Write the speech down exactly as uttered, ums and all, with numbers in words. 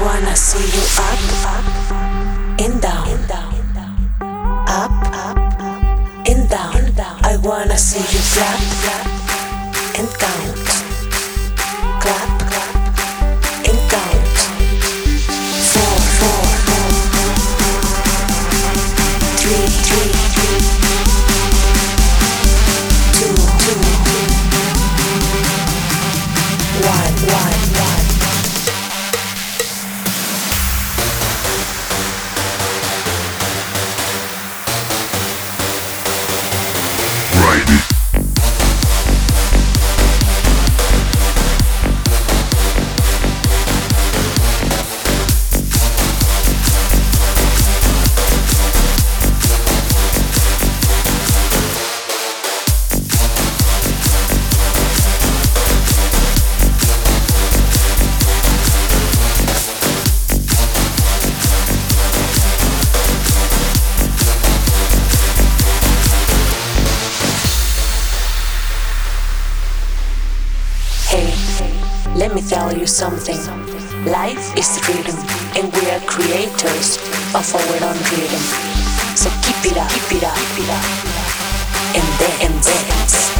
wanna see you up, up, and down, up, up, and down. I wanna see you clap, clap, and count, clap, clap, and count. Four, four, four, three, three, three, two, two, one, one, one. Let me tell you something. Life is rhythm, and we are creators of our own rhythm. So keep it up, keep it up, keep it up, and dance, and dance.